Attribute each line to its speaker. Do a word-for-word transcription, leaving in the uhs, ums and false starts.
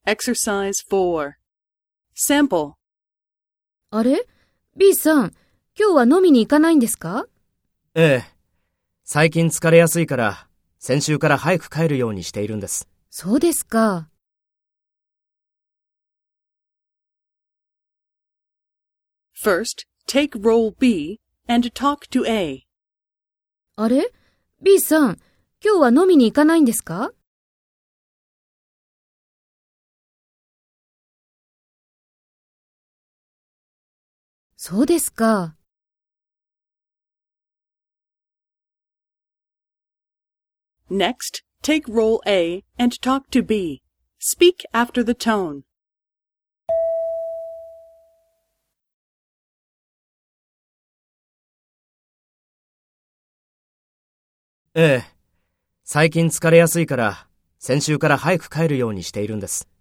Speaker 1: Exercise four. Sample.
Speaker 2: あれ ?B さん、今日は飲みに行かないんですか？
Speaker 3: ええ。最近疲れやすいから、先週から早く帰るようにしているんです。
Speaker 2: そうですか。
Speaker 1: First, take role B and talk to A.
Speaker 2: あれ ?B さん、今日は飲みに行かないんですか？そうですか。
Speaker 1: Next, take role A and talk to B. Speak after the tone.
Speaker 3: ええ。最近疲れやすいから、先週から早く帰るようにしているんです。